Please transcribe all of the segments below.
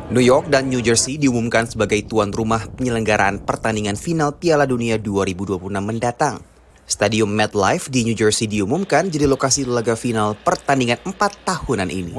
New York dan New Jersey diumumkan sebagai tuan rumah penyelenggaraan pertandingan final Piala Dunia 2026 mendatang. Stadium MetLife di New Jersey diumumkan jadi lokasi laga final pertandingan 4 tahunan ini.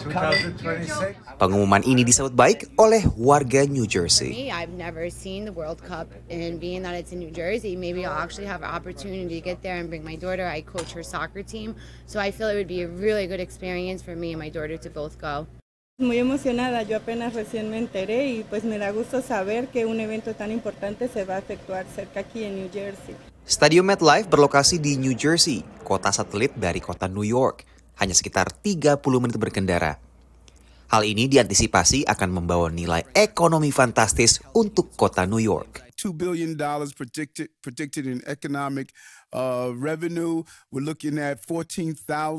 Pengumuman ini disambut baik oleh warga New Jersey. I've never seen the World Cup, and being that it's in New Jersey, maybe I'll actually have an opportunity to get there and bring my daughter. I coach her soccer team, so I feel it would be a really good experience for me and my daughter to both go. Muy emocionada, yo apenas recién me enteré y pues me da gusto saber que un evento tan importante se va a efectuar cerca aquí en New Jersey. Stadium MetLife berlokasi di New Jersey, kota satelit dari kota New York, hanya sekitar 30 menit berkendara. Hal ini diantisipasi akan membawa nilai ekonomi fantastis untuk kota New York. $2 billion predicted in economic revenue. We're looking at 14,000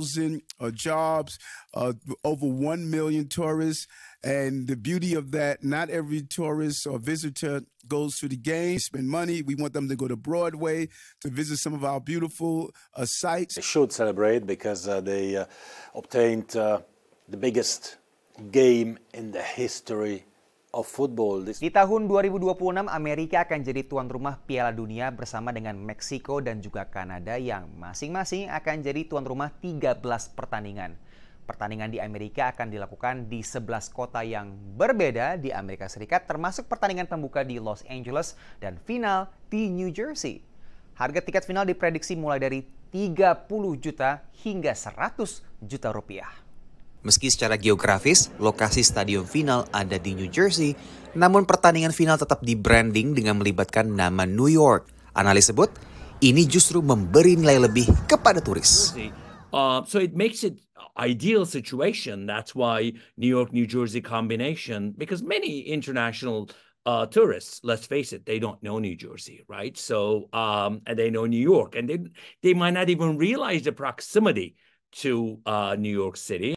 jobs, over 1 million tourists. And the beauty of that, not every tourist or visitor goes to the game, spend money. We want them to go to Broadway to visit some of our beautiful sites. They should celebrate because they obtained the biggest game in the history of football. Di tahun 2026, Amerika akan jadi tuan rumah Piala Dunia bersama dengan Meksiko dan juga Kanada yang masing-masing akan jadi tuan rumah 13 pertandingan. Pertandingan di Amerika akan dilakukan di 11 kota yang berbeda di Amerika Serikat, termasuk pertandingan pembuka di Los Angeles dan final di New Jersey. Harga tiket final diprediksi mulai dari 30 juta hingga 100 juta rupiah. Meski secara geografis, lokasi stadion final ada di New Jersey, namun pertandingan final tetap di-branding dengan melibatkan nama New York. Analis sebut, ini justru memberi nilai lebih kepada turis. So it makes it ideal situation. That's why New York-New Jersey combination, because many international tourists, let's face it, they don't know New Jersey, right? So, and they know New York, and they might not even realize the proximity to New York City.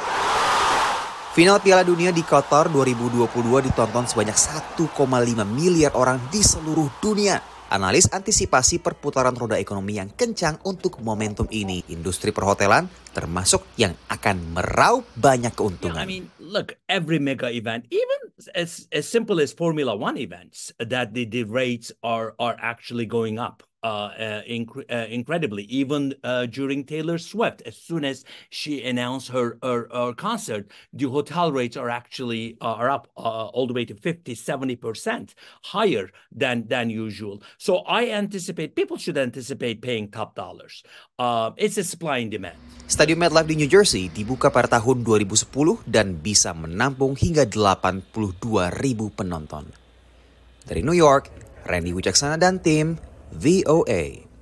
Final Piala Dunia di Qatar 2022 ditonton sebanyak 1,5 miliar orang di seluruh dunia. Analis antisipasi perputaran roda ekonomi yang kencang untuk momentum ini. Industri perhotelan termasuk yang akan meraup banyak keuntungan. Yeah, I mean, look, every mega event, even as simple as Formula One events, that the rates are actually going up. Incredibly, even during Taylor Swift, as soon as she announced her concert, the hotel rates are actually are up all the way to 50-70% higher than usual. So I anticipate people should anticipate paying top dollars. It's a supply and demand. Stadium MetLife di New Jersey dibuka pada tahun 2010 dan bisa menampung hingga 82.000 penonton. Dari New York, Randy Wicaksana dan tim VOA.